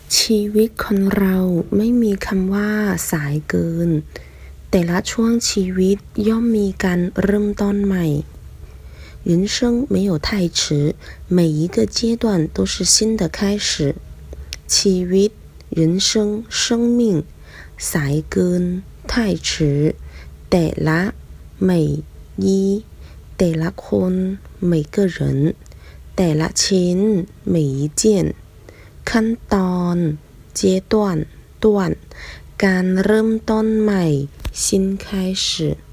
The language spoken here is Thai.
ชีวิตคนเราไม่มีคำว่าสายเกินแต่ละช่วงชีวิตย่อมมีการเริ่มต้นใหม่人生没有太迟每一个阶段都是新的开始ชีวิต人生生命สายเกิน太迟แต่ละ每一แต่ละคน每个人แต่ละชิ้น每一件ขั้นตอน阶段段การเริ่มต้นใหม่新开始